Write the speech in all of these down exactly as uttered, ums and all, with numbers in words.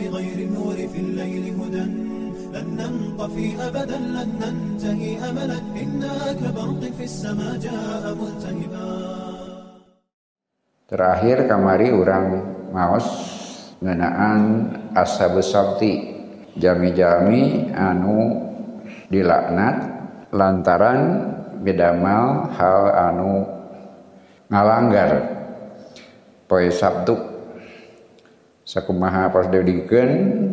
بغير النور في الليل هدى لن ننطفي أبدا لن ننتهي أملا إنا كبرق في السماء جاء ملتهبا. Terakhir kamari urang maos ngeunaan ashabus sabti jami-jami anu dilaknat lantaran bidamal hal anu ngalanggar poe Sabtu. Sakumaha pasdedikeun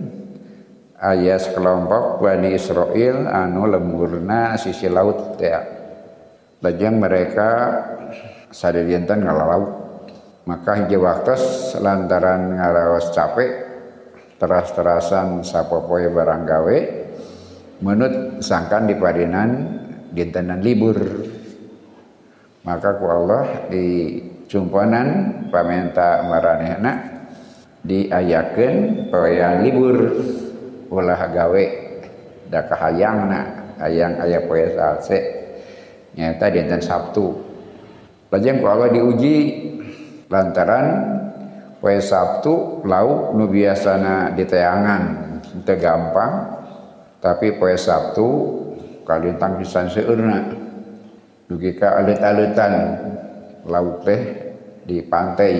aya sekelompok Bani Israil anu lemburna sisi laut teh. Lajeng mereka sadedieuntan ngalalaut. Maka hiji waktos lantaran ngaraos capek teras-terasan sapopoe barang gawe menut sangkan di padinan dintenan libur. Maka ku Allah di cumponan pamenta maranehna diayakeun poean libur ulah gawe da kahayangna hayang aya poe salse nyaeta dinten Sabtu. Lajeng ku Allah diuji lantaran poe Sabtu lauk nu biasana diteangan teu gampang tapi poe Sabtu kalintang pisan seueurna dugi ka alit-alitan lauk teh di pantai.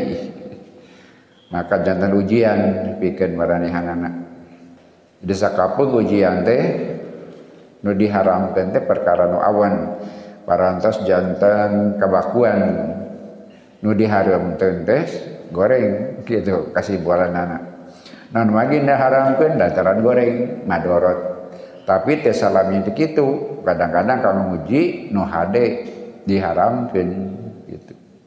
Maka jantan ujian pikeun maranehanana. Di sakapeung ujian teh nu diharamkeun teh perkara nu awan parantos jantan kabakuan nu diharamkeun teh goreng kitu kasih bualanana. Naon magina haramkeun dataran goreng madorot. Tapi teu salami teh kitu. Kadang-kadang kanu nguji nu hade diharamkeun gitu.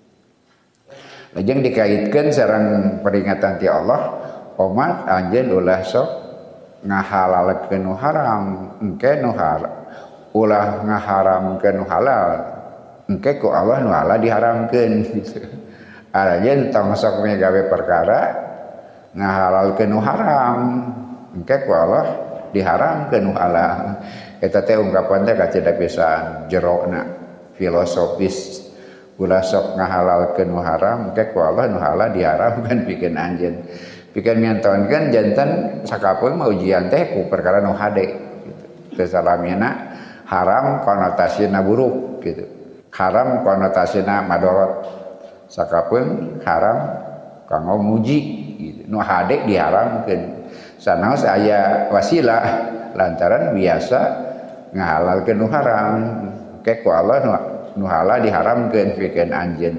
Lajeng dikaitkeun sareng peringatan ti Allah, umat anjeun ulah sok ngahalalkeun nu haram, engke nu haram. Ulah ngaharamkeun nu halal. Engke ku Allah nu halal diharamkeun gitu. Arajeun tong sok gawe perkara ngahalalkeun nu haram. Engke ku Allah diharamkeun nu halal. Eta teh ungkapan teh kacida pisan jerona filosofis. Ulah sok ngahalalkeun nu haram, engke ku Allah nu halal diharamkeun pikeun anjeun. Pikeun nyantonkeun janten sakapeung mah ujian teh ku perkara nu hade gitu. Teu salamina haram konotasina buruk gitu. Haram konotasina madorot. Sakapeung haram kanggo muji gitu. Nu hade diharamkeun. Sanaos aya wasilah lantaran biasa ngahalalkeun nu haram. Ke ku Allah nu, nu halal diharamkeun pikeun anjeun.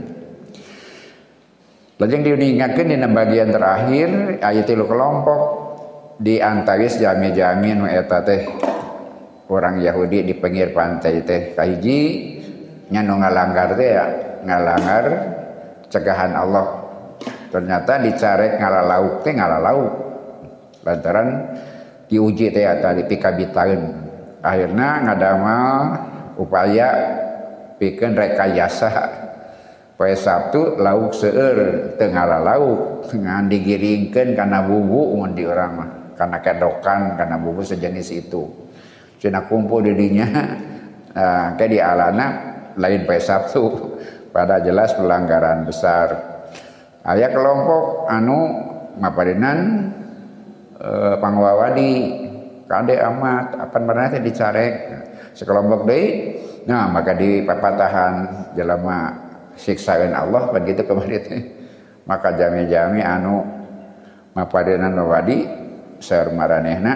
Lajeng diingatkeun dina bagian terakhir aya tilu kelompok di antawis jami-jami nu eta teh orang Yahudi di pinggir pantai teh kahiji nya nu ngalanggar teh ya ngalanggar cegahan Allah. Ternyata dicarek ngalalauk teh ngalalauk lantaran diuji teh tadi pikabitaeun. Akhirna ngadamal upaya pikeun rekayasa poe Sabtu lauk seueur teu ngalalauk ngan digiringkeun kana bubu mun di urang mah kana kedokan kana bubu sejenis itu. Cenah kumpul di dinya uh, ke di alana lain poe Sabtu pada jelas pelanggaran besar. Aya kelompok anu maparinan uh, pangwawadi kade amat apan berenang teh dicarek sekelompok deui. Nah maka di papatahan jelema siksaeun Allah begitu kemarin teh. Maka jami-jami anu maparinan wawadi saeur maranehna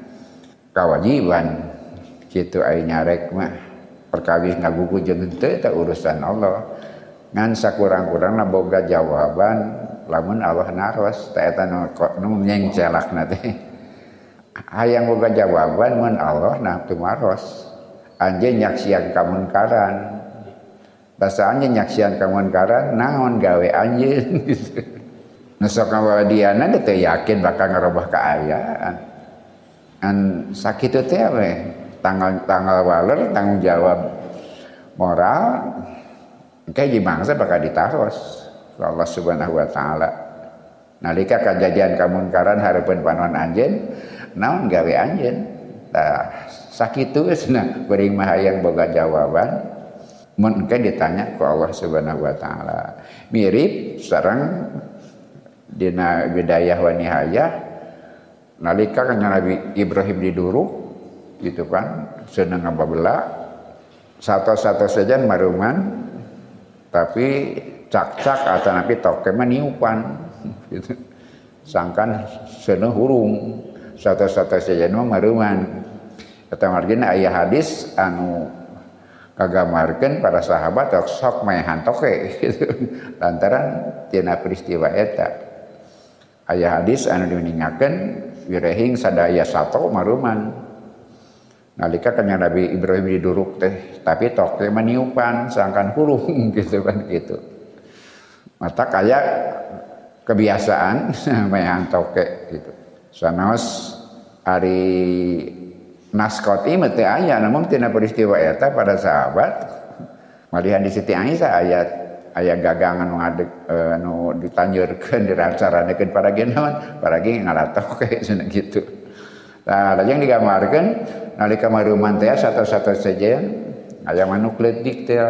kawajiban kitu aya nyarek mah perkawis ngagugu jeung teu eta urusan Allah. Ngan sakurang-kurangna boga jawaban lamun Allah naros teh eta nu nyengcelakna teh. Hayang boga jawaban mun Allah nah teu maros. Anjeun nyaksian kamunkaran. Basa anjeun nyaksian kamunkaran naon gawe anjeun gitu. Nu sok ngawadiana teu yakin bakal ngarobah kaayaan. An sakitu teh we tanggal tanggal waler tanggung jawab moral engke di mangsa bakal ditaros Allah Subhanahu wa taala. Nalika kajadian kamunkaran hareupeun panoan anjeun naon gawe anjeun. Tah sakitu geusna beuring mah hayang boga jawaban mun engke ditanya ku Allah Subhanahu wa taala. Mirip sareng dina bidayah wa nihayah nalika kan Nabi Ibrahim diduruk gitu kan seneng ngababela satu-satu saja maruman tapi cak-cak atau napi toke maniupan gitu sangkan seneng hurung satu-satu saja mah maruman eta margina aya hadis anu kagamarkeun para sahabat sok maehan toke gitu lantaran tina peristiwa eta aya hadis anu diningakeun wirehing sadaya sato maruman nalika kanya Nabi Ibrahim diduruk teh tapi tok teh maniupan sangkan hurung gitu kan gitu mata kaya kebiasaan maehan toke gitu sanaos ari naskoti mah teu aya namun tina peristiwa eta pada sahabat malihan di Siti Aisyah ayat aya gagangan nu ngadeg anu ditanjeurkeun diracaranekeun paragi naon paragi ngalatoke cenah gitu. Tah lajeng digambarkeun nalika maruman teh satu-satu saja aya manuk leutik teh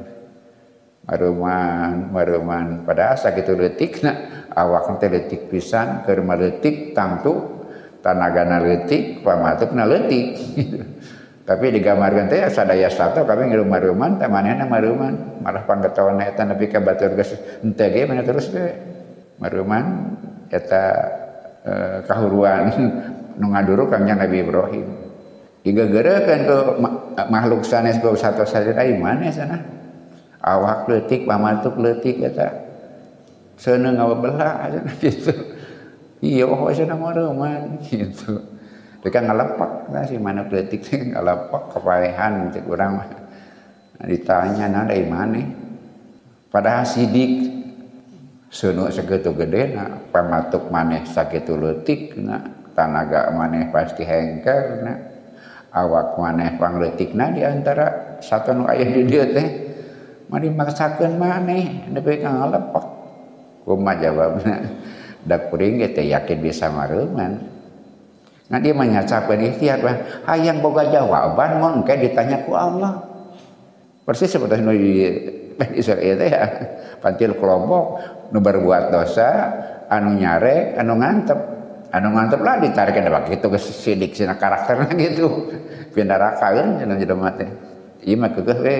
maruman maruman pada sakitu leutikna awakna teh leutik pisan keur maleutik tangtu tanagana leutik pamatukna leutik tapi digambarkeun teh sadaya sato kami ngilu maruman teh manehna maruman malah panggetawana eta nepi ka batur geus henteu ge mana terus we maruman eta e, kahuruan nu ngaduruk kangnya Nabi Ibrahim digegeureukkeun ku makhluk sanes ku sato saja ai maneh sana awak leutik pamatuk leutik eta seuneu ngabelah gitu iya oh cenah maruman gitu teka ngalepak nah si manuk leutik teh ngalepak kapaehan cek urang mah ditanya na dari maneh padahal sidik seuneu sakitu gedena pamatuk maneh sakitu leutikna tanaga maneh pasti hengkerna awak maneh pangleutikna di antara satu nu aya di dieu teh mari maksakeun maneh nepi ka ngalepak kumaha jawabna da kuring ge teh yakin bisa maruman. Nah dia menyacapan ikhtiar bah hayang boga jawaban mun engke ditanya ku Allah. Persis seperti nu di Israel teh ya. Pantil kelompok nu berbuat dosa anu nyarek anu ngantep. Anu ngantep lah ditarik ka kitu geus sidik sina karakterna gitu. Pindarakaeun cenah jelema teh. Ieu mah keukeuh we.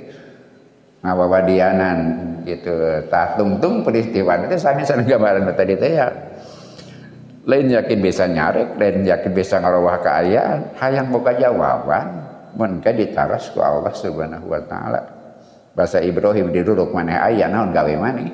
Ngawawadianan gitu tah tungtung peristiwa teh sami sareng gambaran tadi teh ya lain yakin bisa nyarek lain yakin bisa ngarawah keayaan hayang boga jawaban mun ka ditaros ku Allah Subhanahu wa taala basa Ibrahim diduruk maneh aya naon gawe maneh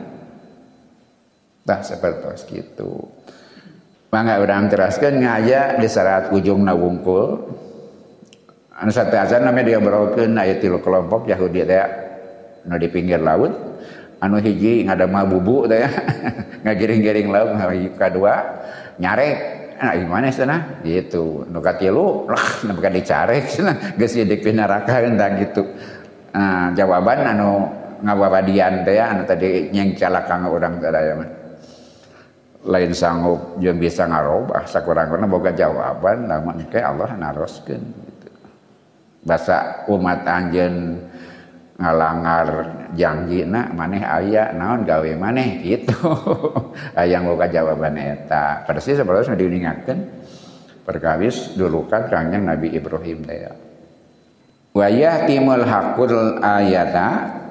tah sapertos kitu mangga urang teraskeun ngaya di sarat ujungna wungkul anu sateasan nami dia berokeun aya tilu kelompok Yahudi teh nu di pinggir laut anu hiji ngadama bubuk teh ngagiring-giring laut anu kadua nyarek nah gimana cenah gitu nu katilu lah nepi ka dicarek cenah geus sidik di neraka entah gitu nah, jawaban anu ngawawadian teh anu tadi nyengcalakang urang sadaya mah lain sanggup jeung bisa ngarobah sakurang-kurangna boga jawaban lamun ke Allah naroskeun gitu basa umat anjeun ngalangar janjina maneh aya naon gawe maneh gitu hayang boga jawaban eta persis sapertos diuningakeun perkawis dulukan kangjeng Nabi Ibrahim teh wa yahtimul haqqul ayata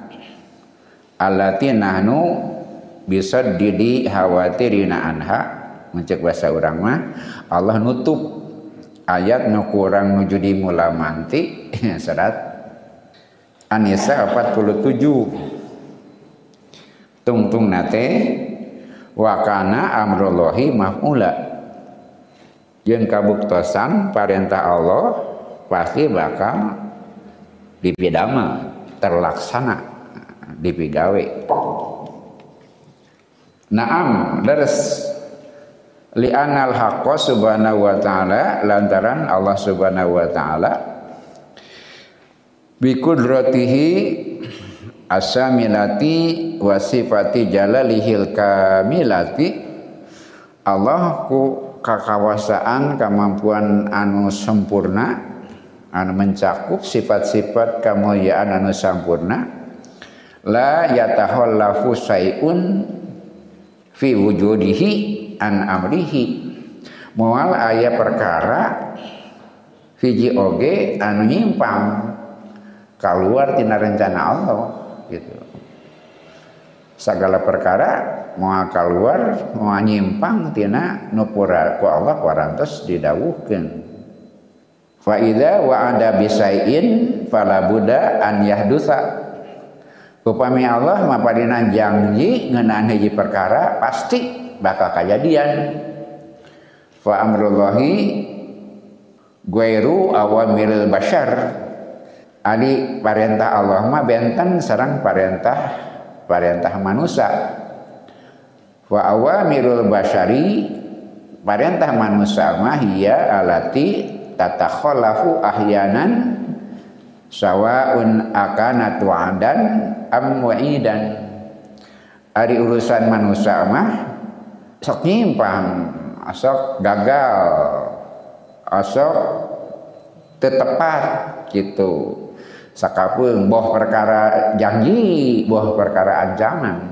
allati nahnu bisaddidi hawatirina anha mencek bahasa urang mah Allah nutup ayat nu kurang nuju di mula manti serat An-Nisa empat puluh tujuh tungtung nate wa kana amrullahi maf'ula jeung kabuktosan parentah Allah pasti bakal dipidama terlaksana dipigawe naam deres li anal haqqa subhanahu wa ta'ala lantaran Allah subhanahu wa ta'ala bi qudratihi asamilati wa sifati jalalihil kamilati Allah ku kakawasaan kemampuan anu sempurna anu mencakup sifat-sifat kamuliaan anu sampurna la yatahallafu sayun fi wujudihi an amrihi moal aya perkara hiji oge anu nyimpang keluar tina rencana Allah gitu. Segala perkara moal keluar moal nyimpang tina nu pura ku Allah warantos didawuhkeun. Fa idza wa'ada bisai'in fala budda an yahdutsa. Upami Allah mapadina janji ngeunaan hiji perkara pasti bakal kajadian. Fa amrullahi ghairu awamiril bashar. Ari parentah Allah mah benten sareng parentah parentah manusia. Wa awamirul bashari parentah manusia mah hiya alati tatakhallafu ahyanan sawaun akana tu'adan am wa'idan. Ari urusan manusia mah sok nyimpang, sok gagal, sok tetepat gitu. Sakapeung boh perkara janji, boh perkara ancaman.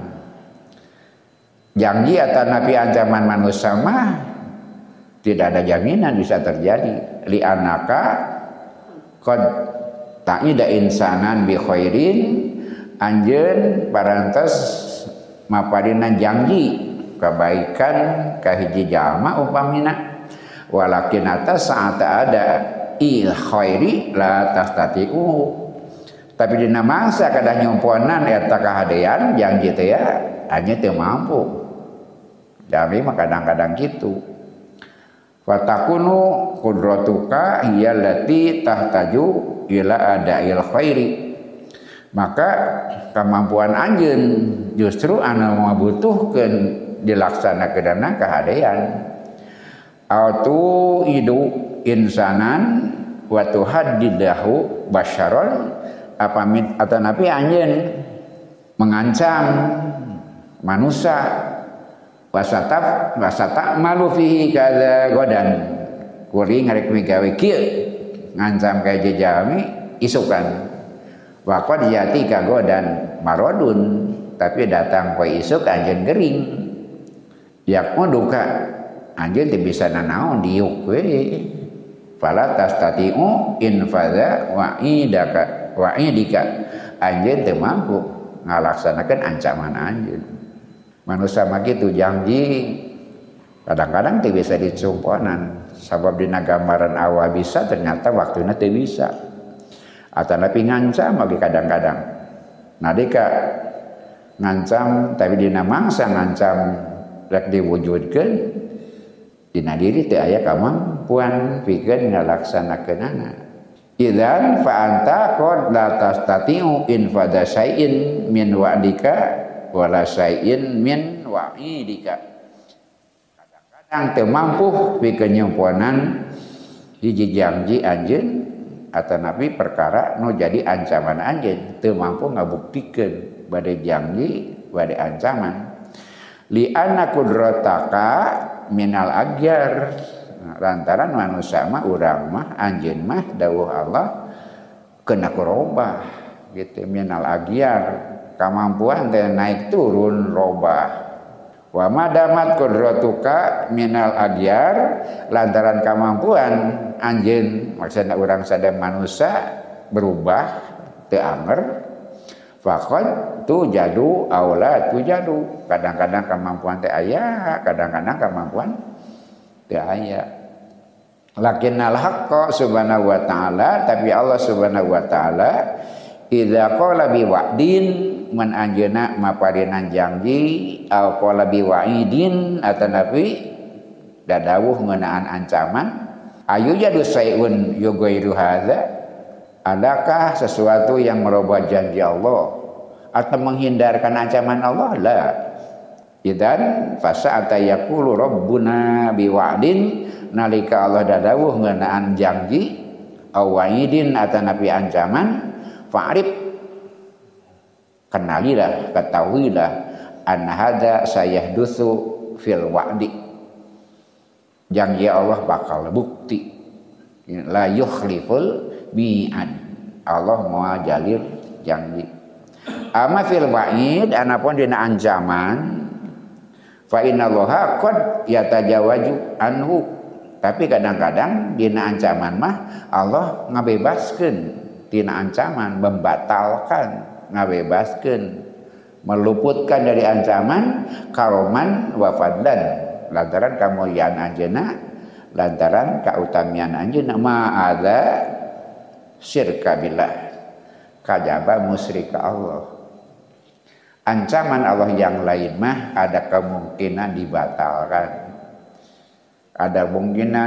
Janji atau nabi ancaman manusia mah tidak ada jaminan bisa terjadi. Li anaka qad ta'ida insanan bi khairin, anjeun parantos mapadina janji kebaikan ka hiji jalma upamina, walakin atas saat ada il khairi la tastatiu, tapi dina mangsa kadah nyumponan eta kahadean janji teh ya hanya teu mampu. Jadi mah kadang-kadang kitu. Fatakunu qudratuka hiya allati tahtaju ila ada'il khairi. Maka kemampuan anjeun justru anu ngabutuhkeun dilaksanakeunna kahadean. Autu idu insanan wa tuhaddidahu basyaron apamit atanapi anjeun mengancam manusia wasataf wasata malu fihi kadza godan kuring ngarek migawe kieu ngancam ka jejami isukan waqad yati ka godan marodun tapi datang poe isuk anjeun gering yak duka anjeun teu bisa nanaon diuk we fala tastatiu infadza wa'idaka wa'idika anjeun teu mampu ngalaksanakeun ancaman anjeun. Manusia mah gitu janji kadang-kadang teu bisa dicumponan sabab dina gambaran awal bisa ternyata waktuna teu bisa atanapi ngancam lagi kadang-kadang nadika ngancam tapi dina mangsa ngancam rek diwujudkeun dina diri teu aya kamampuan pikeun ngalaksanakeunana. Idzan fa anta qad la tastatiu infada syai'in min wa'dika wala syai'in min wa'idika. Kadang-kadang teu mampu pikeun nyumponan hiji janji anjeun atanapi perkara nu jadi ancaman anjeun teu mampu ngabuktikeun bade janji bade ancaman. Li anna qudrataka minal agyar. Lantaran manusia mah urang mah anjeun mah dawuh Allah kena kurobah gitu minal agyar. Kemampuan teh naik turun robah. Wa madamat qudratuka minal agyar lantaran kemampuan anjeun maksudna urang sadaya manusia berubah teu anger faqad tujadu aula tujadu kadang-kadang kemampuan teh aya kadang-kadang kemampuan teu aya. Lakinnal haqqa subhanahu wa ta'ala tapi Allah subhanahu wa ta'ala idza qala bi wa'din man anjeuna maparinan janji au qala bi wa'idin atanapi dadawuh ngeunaan ancaman ayu jadu sayun yughairu hadza adakah sesuatu yang merubah janji Allah atau menghindarkan ancaman Allah la idzan fasa'ata yaqulu rabbuna bi wa'din nalika Allah dadawuh ngeunaan janji au wa'idin atanapi ancaman fa'rif kenalilah ketahuilah an hadza sayahdutsu fil wa'di janji Allah bakal bukti la yukhliful mi'ad Allah moal jalir janji ama fil wa'id anapun dina ancaman fa innallaha qad yatajawaju anhu Tapi kadang-kadang dina ancaman mah Allah ngabebaskeun tina ancaman, membatalkan, ngabebaskeun, meluputkan dari ancaman karoman wa fadlan lantaran kamuliaan anjeunna, lantaran kautamian anjeunna ma ada syirka billah, kajaba musyrik ka Allah. Ancaman Allah yang lain mah ada kemungkinan dibatalkan, ada kemungkinan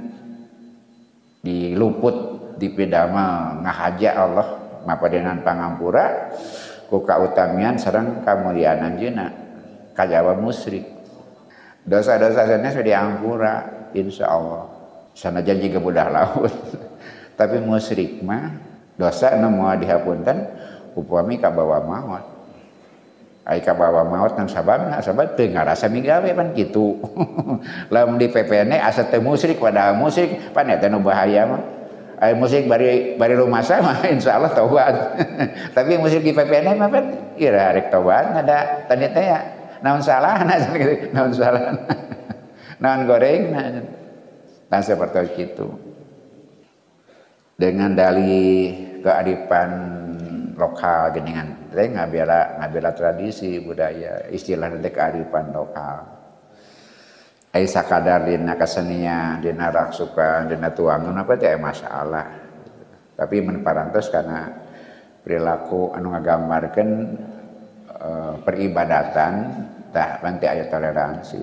diluput dipidama ngahaja Allah mapadenan pangampura ku kautamian sareng kamuliaan anjeunna, kajaba musyrik. Dosa-dosa sana sudah diampura insyaallah sanajan jiga budak laut. Tapi musyrik mah dosa nu moal dihapunten upami kabawa maut. Ai kabawa maut nang sababna sabab teu ngarasa migawe pan kitu. Lamun di P P N asa teu musyrik padahal musyrik pan eta nu bahaya mah. Ai musyrik bari bari rumasa mah insyaallah taubat. Tapi musyrik di P P N mah pan ira rek taubat ada tadi teh ya. Naon salahna gitu, naon salahna. Naon gorengna. Nah seperti itu. Dengan dalih kearifan lokal geningan teh ngabela ngabela tradisi budaya istilah teh kearifan lokal. Ai sakadar dina kesenian, dina raksukan, dina tuangan apa teh masalah. Tapi mun parantos kana perilaku anu ngagambarkeun e, peribadatan tah panti aya toleransi.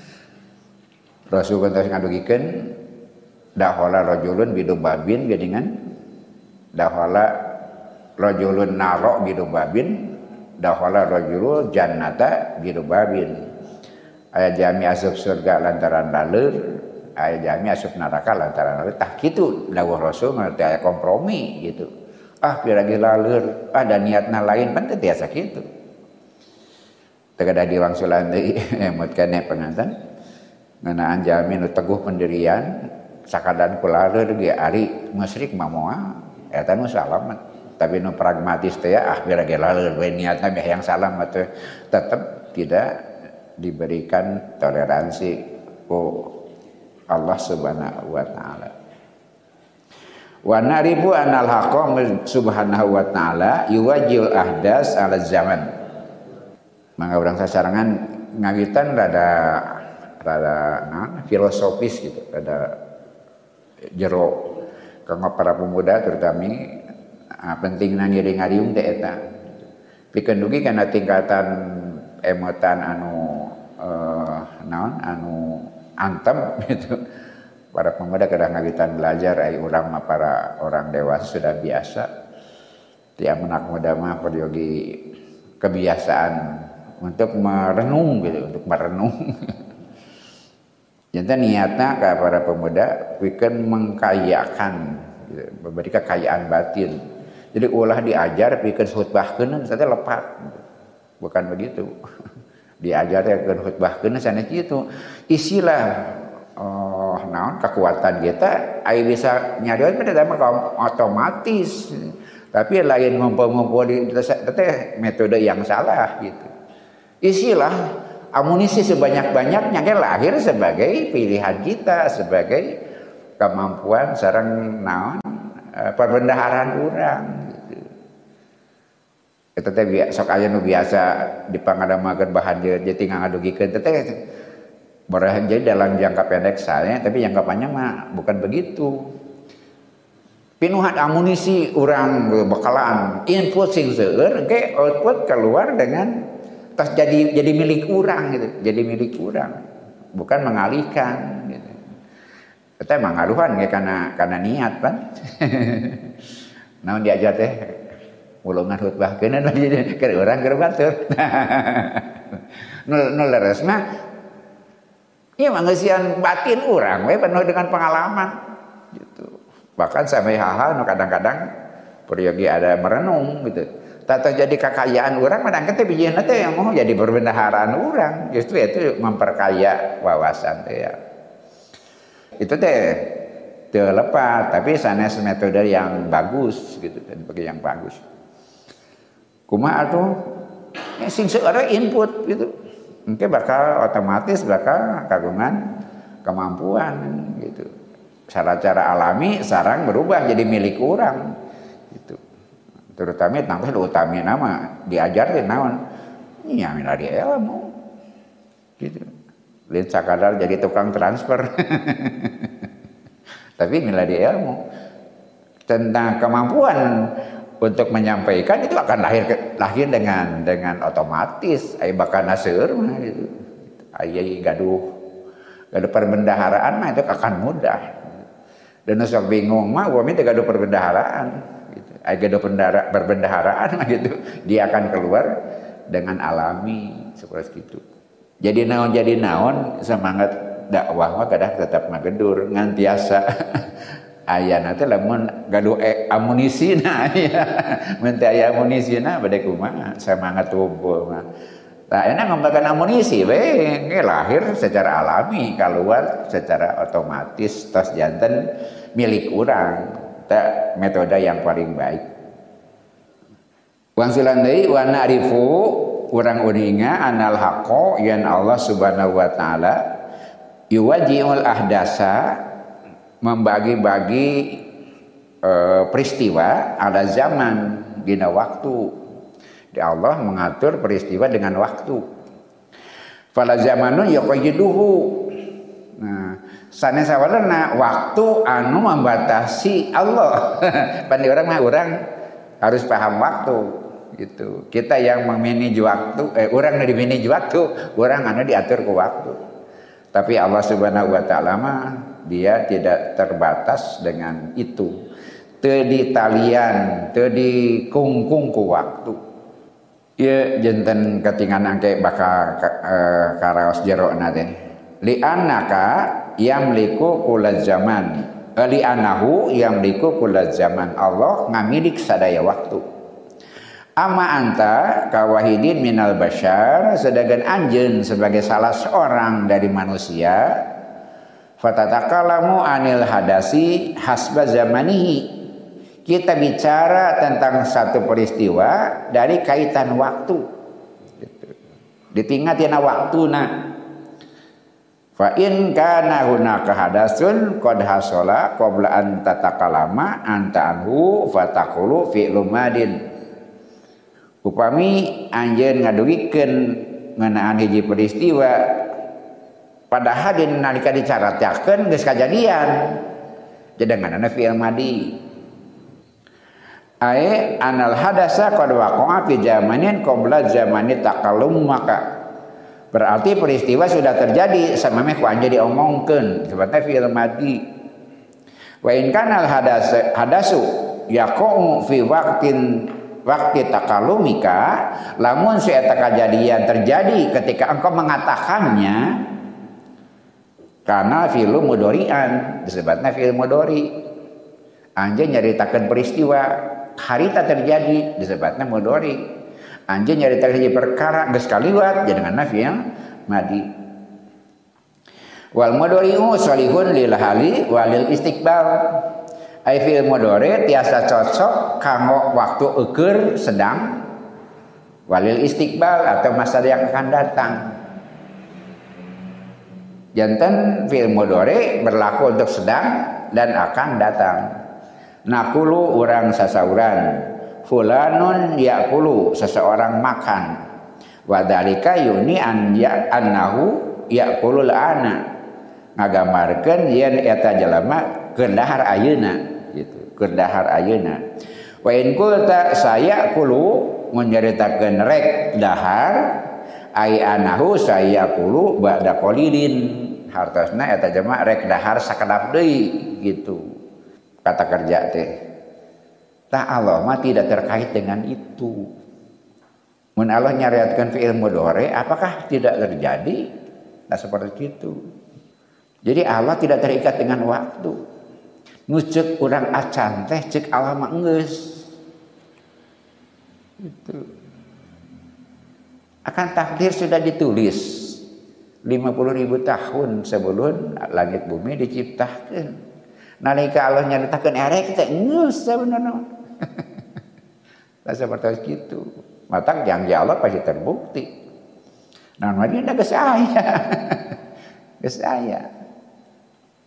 Rasul geus ngadugikeun dahola rajulun bidubabin geningan dahola rajulun naro bidubabin dahola rajulul jannata bidubabin. Aya jami asup surga lantaran laleur, aya jami asup neraka lantaran laleur. Tah kitu dawuh Rasul ngarti aya kompromi gitu. Ah piragi laleur, ada niatna lain pan teh tiasa kitu. Teu kada diwangsulan deui emot keneh penganten. Ngeunaan jami nu teguh pendirian sakadan ku laleur ge ari musyrik mah moal eta nu salamet. Tapi nu pragmatis teh ah piragi laleur we niatna meh yang salam teh tetep tidak diberikan toleransi ku Allah Subhanahu wa taala. Wa naribu anal haqqo subhanahu wa taala yuwajjil ahdas ala zaman. Mangga urang sasarangan ngawitan rada rada naon filosofis gitu, rada jero kanggo para pemuda terutama ah, pentingna ngiring-ngariung teh eta. Pikeun dugi kana tingkatan emotan anu eh, naon anu antem gitu. Para pemuda kadang ngawitan belajar ai urang mah para orang dewasa sudah biasa. Tiap anak muda mah peryogi kebiasaan untuk merenung gitu, untuk merenung. Jadi niatna ka para pemuda pikeun mengkayakan gitu, memberi kekayaan batin. Jadi ulah diajar pikeun khutbahkeun teh lepat. Gitu. Bukan begitu. Diajar pikeun khutbahkeun sanes kitu. Isilah oh naon kekuatan kita ai bisa nyarios pada mah otomatis. Tapi lain ngumpul-ngumpul di teh metode yang salah gitu. Isilah amunisi sebanyak-banyaknya kan lahir sebagai pilihan kita, sebagai kemampuan sareng naon perbendaharaan urang gitu. Eta teh sok aya nu biasa dipangadamakeun bahan jeung tinggal ngadugikeun teh barahan jadi dalam jangka pendek saya, tapi jangka panjang mah bukan begitu. Pinuhan amunisi urang bakalan input sing seueur ge output keluar dengan tas jadi jadi milik urang gitu, jadi milik urang, bukan mengalihkan gitu. Eta emang ngaruhan ge kana kana niat pan. Naon diajar teh ulungan khutbahkeun jadi keur urang keur batur. Nu nu leres mah ieu mah ngeusian batin urang we penuh dengan pengalaman gitu. Bahkan sampai hal-hal nu kadang-kadang peryogi ada merenung gitu. Tak terjadi kekayaan orang, kadang kita bijihna teh yang mau jadi perbendaharaan orang, justru itu memperkaya wawasan teh ya. Itu teh terlepas, tapi sanes metode yang bagus gitu, dan bagi yang bagus. Kumaha atuh? Ya, sing seueur input gitu, mungkin bakal otomatis bakal kagungan kemampuan gitu. Cara-cara alami sarang berubah jadi milik orang gitu. Terutama tangkos utami nama diajarin naon nya miladi ilmu gitu. Lain sakadar jadi tukang transfer. Tapi miladi ilmu tentang kemampuan untuk menyampaikan itu akan lahir lahir dengan dengan otomatis ai bakal naseur mah gitu. Ai gaduh gaduh perbendaharaan mah itu akan mudah. Dan sok bingung mah gua minta gaduh perbendaharaan gitu. Ai gaduh perbendaharaan mah gitu. Dia akan keluar dengan alami seperti itu. Jadi naon jadi naon semangat dakwah mah kadang tetap ngagedur ngan tiasa ayana teh lamun gaduh e, amunisina ya. Mun teh aya amunisina bade kumaha semangat tubuh mah. Tah enak ngembangkan amunisi we lahir secara alami keluar secara otomatis tos janten milik urang. Teh metode yang paling baik. Wangsilan deui wa na'rifu urang uninga anal haqqo yan Allah Subhanahu wa taala yuwaji'ul ahdasa membagi-bagi e, peristiwa ada zaman dina waktu. Di Allah mengatur peristiwa dengan waktu. Fala zamanun yaqayyiduhu. Nah, sanes sawarna waktu anu membatasi Allah. Pan orang mah orang harus paham waktu gitu. Kita yang memanage waktu, eh orang yang dimanage waktu, orang anu diatur ke waktu. Tapi Allah Subhanahu wa taala mah dia tidak terbatas dengan itu. Teu ditalian, teu dikungkung ku waktu. Ieu janten katingan angke bakal uh, karaos jerona teh. Li annaka yamliku kulaz zaman. Li annahu yamliku kulaz zaman. Allah ngamilik sadaya waktu. Amma anta kawahidin minal bashar sedangkan anjeun sebagai salah seorang dari manusia fatatakalamu anil hadasi hasba zamanihi. Kita bicara tentang satu peristiwa dari kaitan waktu. Ditingkat tina waktuna. Fa in kana hunaka hadasun qad hasala qabla an tatakalama anta anhu fataqulu fi'lu madin. Upami anjeun ngadugikeun ngeunaan hiji peristiwa padahal di nalika dicaratakeun geus kajadian jadanganna fi'il madi ai anal hadasa qad waqa'a fi zamanin qabla zamani takallum maka berarti peristiwa sudah terjadi samemeh ku anjeun diomongkeun sebabna fi'il madi wa in kana al hadas hadasu yaqa'u fi waqtin waktu takalumika lamun si eta kejadian terjadi ketika engkau mengatakannya karena fi'il mudhari'an disebutna fi'il mudhari anjeun nyaritakeun peristiwa harita terjadi disebutna mudhari anjeun nyaritakeun hiji perkara geus kaliwat janganna fi'il madi wal mudhari'u salihun lil hali walil istiqbal ai fi'il mudhari tiasa cocok kanggo waktu eukeur sedang walil istiqbal atau masa yang akan datang. Janten fi'il mudhari berlaku untuk sedang dan akan datang. Nakulu urang sasauran, fulanun yakulu seseorang makan. Wa dzalika yuni an ya annahu yakulul ana. Ngagambarkeun yen eta jalema keundahar ayeuna. Gitu kedahar ayeuna wa in qulta saya kulu menceritakeun rek dahar ai anahu saya kulu ba'da qalilin hartosna eta jema rek dahar sakedap deui gitu kata kerja teh tah Allah mah tidak terkait dengan itu mun Allah nyariatkeun fi'il mudhari apakah tidak terjadi nah seperti itu jadi Allah tidak terikat dengan waktu. Nucek urang acan teh cek Allah mah geus. Itu. Akan takdir sudah ditulis lima puluh ribu tahun sebelum langit bumi diciptakeun. Nalika Allah nyaritakeun erek teh geus sabenerna. Lah seperti itu. Mata janji Allah pasti terbukti. Nah, madina geus aya. Geus aya.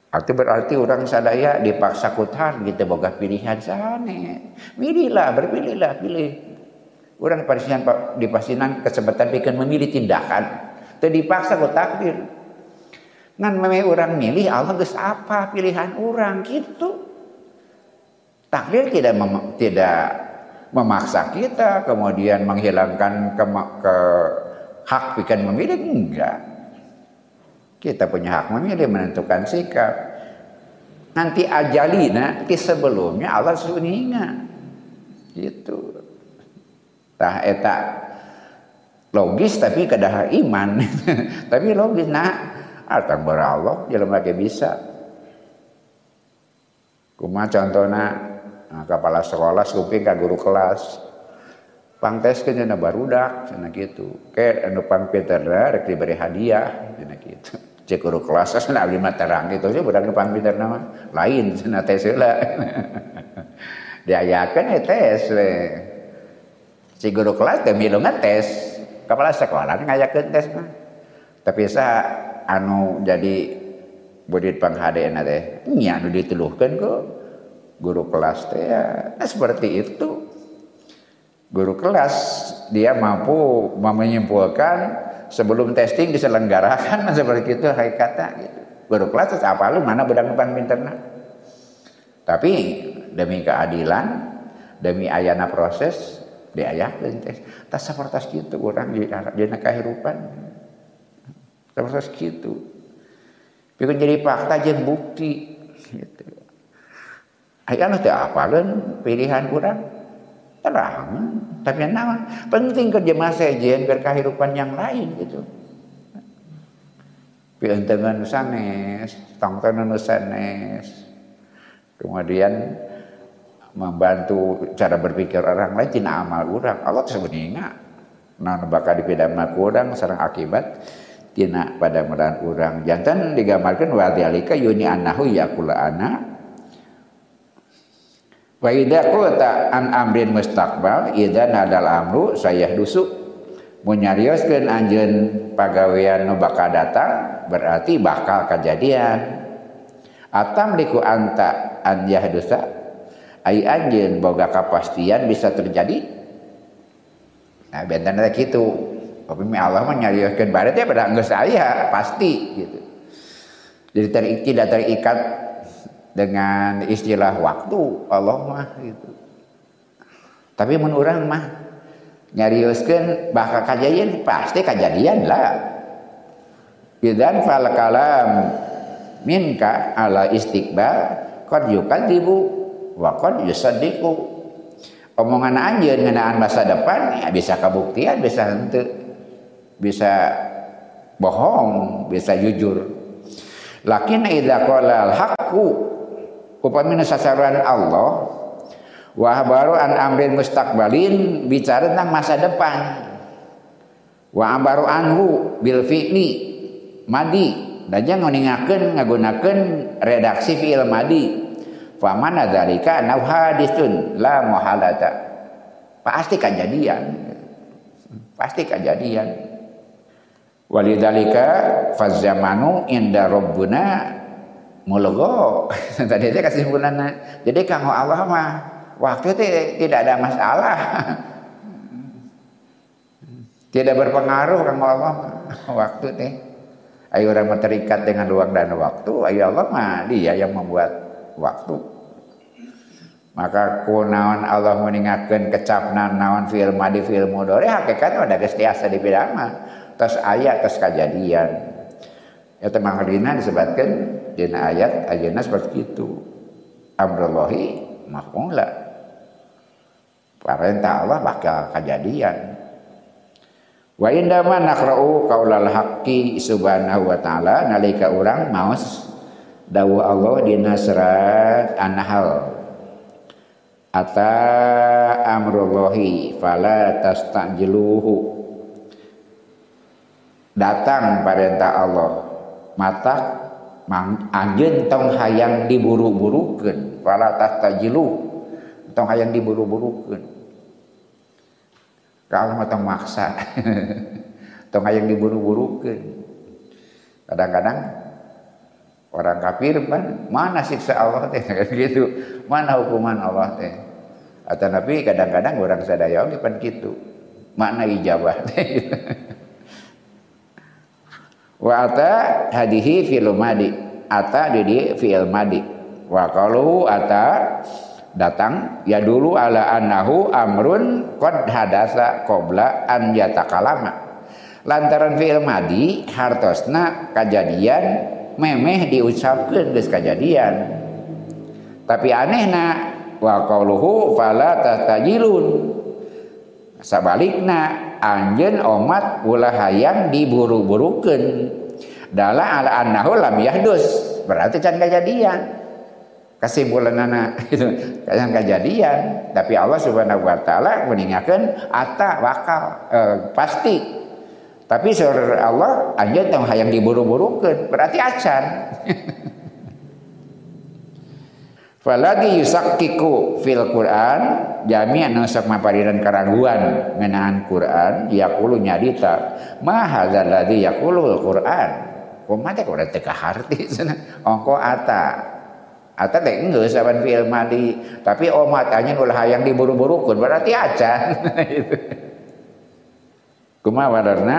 Itu berarti orang sadaya dipaksa kutan gitu boga pilihan sane. Milihlah, berpilihlah, pilih. Orang dipasinan dipasinan kesempatan bikin memilih tindakan. Teu dipaksa ku takdir. Ngan memang orang milih Allah geus apa pilihan orang gitu. Takdir tidak mem, tidak memaksa kita kemudian menghilangkan ke, ke hak bikin memilih, enggak. Kita punya hak memilih, menentukan sikap. Nanti ajalina ti sebelumnya Allah suninga. Gitu. Tah eta logis tapi kedah iman. Tapi logis nah atang berallah jelema ge bisa. Kumaha contona nah, kepala sekolah suping ka guru kelas. Pangteskeun cenah barudak cenah kitu. Ke anu pangpinterna rek diberi hadiah cenah kitu. Cek guru kelas cenah abdi mah terang kitu sih budak nu pangpinterna mah lain cenah tes heula. Diayakeun we tes we. Si guru kelas teh milu ngetes, kepala sekolah ngayakeun tes mah. Tapi sa anu jadi bodit panghadeuna teh nya anu dituluhkeun ku guru kelas teh ya nah, seperti itu. Guru kelas dia mampu menyimpulkan sebelum testing diselenggarakan seperti itu hakikatnya gitu. Guru kelas terus apa lu mana budak depan pinterna. Tapi demi keadilan, demi ayana proses diayakeun teh. Tas sapertos kitu urang di dina kahirupan. Sapertos kitu. Pikeun jadi fakta jeung bukti gitu. Aya anu teu apaleun pilihan urang. Terang, tapi naon penting kerja masa sejen biar kehidupan yang lain gitu. Pientengan sanes, tongtonan sanes. Kemudian membantu cara berpikir orang lain tina amal urang. Allah sebenarnya naon bakal dipidana urang sareng akibat tina pada meran urang. Jantan digambarkeun wa dzalika yuni annahu yaqulu ana wa idza qulta an amrin mustaqbal idza nadal amru sayahdusu mun nyarioskeun anjeun pagawean nu bakal datang berarti bakal kejadian atam liku anta an yahdusa ai anjeun boga kapastian bisa terjadi. Nah bentana kitu tapi Allah mah nyarioskeun baret ya pada geus aya pasti gitu. Jadi ter, tidak terikat dengan istilah waktu Allah mah gitu. Tapi mun urang mah nyarioskeun bakal kejadian pasti kejadian lah. Idzan fal kalam minka ala istiqbal qad yukadzibu wa qad yusaddiqu. Omongan anjeun ngeunaan masa depan ya bisa kabuktian bisa henteu. Bisa bohong, bisa jujur. Lakin idza qala al-haqqu upamina sasaran Allah wa baru an amrin mustaqbalin bicara tentang masa depan wa baru anhu bil fi'li madi dan jangan ningakeun ngagunakeun redaksi fi'il madi fa mana dzalika nau haditsun la muhalata pasti kejadian pasti kejadian walidzalika faz zamanu inda rabbuna mulgo tadi saya kasih simpulannya. Jadi kanggo Allah mah waktu itu tidak ada masalah. Tidak berpengaruh kanggo Allah mah waktu teh. Ayo orang terikat dengan ruang dan waktu, ayo Allah mah dia yang membuat waktu. Maka kunaon Allah meningakeun kecapna naon fi'il madi fi'il mudhari hakikatna ada geus tiasa dipidana. Tos aya tos kejadian. Ya temang dina disebutkan dina ayat ayeuna seperti itu. Amrullahi maf'ula. Perintah Allah bakal kejadian. Wa indama naqra'u qaulal haqqi subhanahu wa ta'ala nalika urang maos dawuh Allah dina surat An-Nahl. Ata amrullahi fala tastajiluhu. Datang perintah Allah mata anjeun tong hayang diburu-burukeun fala tastajilu tong hayang diburu-burukeun ka Allah mah tong maksa tong hayang diburu-burukeun kadang-kadang Orang kafir kan mana siksa Allah teh gitu. Mana hukuman Allah teh. Atau Nabi kadang-kadang orang sadaya oge pan kitu. Makna ijabah teh gitu. Wa ata hadihi fil madi. Ata di fi'il madi. Wa qalu ata datang ya dulu ala annahu amrun qad hadasa qabla an yatakalama. Lantaran fi'il madi hartosna kajadian memeh diucapkeun geus kajadian. Tapi anehna wa qauluhu fala tastajilun. Sabalikna anjeun omat ulah hayang diburu-burukeun. Dala ala annahu lam yahdus. Berarti can kajadian. Kesimpulanana itu can kajadian, tapi Allah Subhanahu wa taala meningakeun ata bakal eh, pasti. Tapi sur Allah anjeun tong hayang diburu-burukeun, berarti acan. Falagi yusakkiku fil Quran jami anu sok mapariran karaguan ngeunaan Quran yaqulu nyadita ma hadzal ladzi yaqulul Quran. Kumaha teh kudu teu kaharti cenah. Ongko ata. Ata teh geus saban fi'il madi, tapi omat anjeun ulah hayang diburu-burukeun berarti acan. Kumaha wadarna?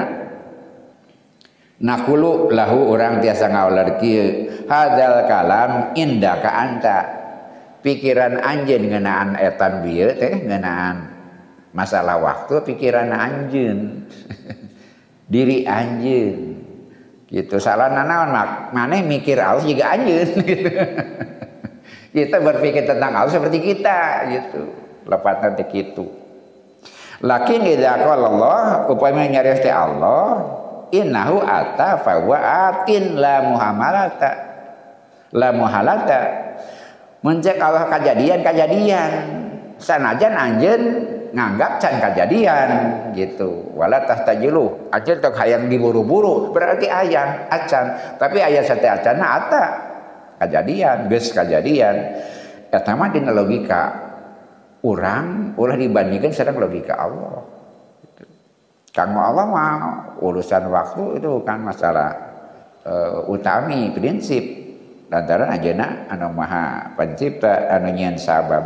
Nakulu lahu orang tiasa ngaular kieu hadzal kalam indaka anta. Pikiran anjeun ngeunaan etan bieu teh ngeunaan masalah waktu pikiran anjeun. Diri anjeun. Gitu salahna naon mak maneh mikir Allah juga anjeun gitu. Kita berpikir tentang Allah seperti kita gitu. Lepatna teh kitu. Lakin idza qala Allah upami nyarios teh Allah innahu ata fa wa atin la muhamalata la muhalata mencek Allah kajadian-kajadian sanajan anjeun nganggap can kajadian gitu wala tahtajilu anjeun teu hayang diburu-buru berarti aya acan tapi aya sate acanna ata kajadian geus kajadian eta mah dina logika urang ulah dibandingkeun sareng logika Allah. Kanggo Allah mah urusan waktu itu kan masalah uh, utami prinsip lantaran ajeuna anu maha pencipta anu nyieun sabab.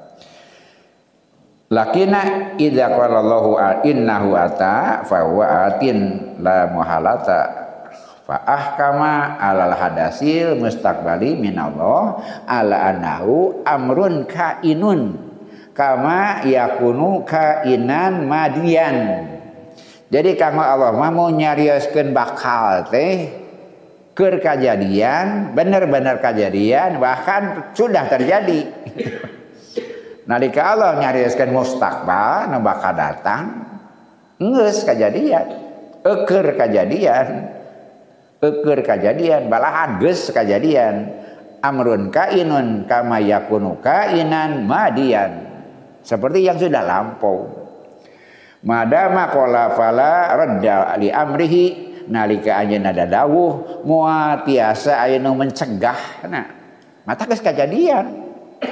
Lakina idza qala Allahu innahu ata fa huwa atin la muhalata fa ahkama alal hadasil mustaqbali minallah ala annahu amrun kainun kama yakunu kainan madian. Jadi kanggo Allah mah mau nyarioskeun bakal teh keur kajadian, bener-bener kajadian bahkan sudah terjadi. Nalika Allah nyarioskeun mustaqbal nu bakal datang, geus kajadian, eukeur kajadian, eukeur kajadian, balahan geus kajadian. Amrun kainun kama yakunu kainan madian. Seperti yang sudah lampau. Madama qala fala radda li amrihi nalika anjeunna dadawuh moal tiasa aya nu mencegahna mata geus kajadian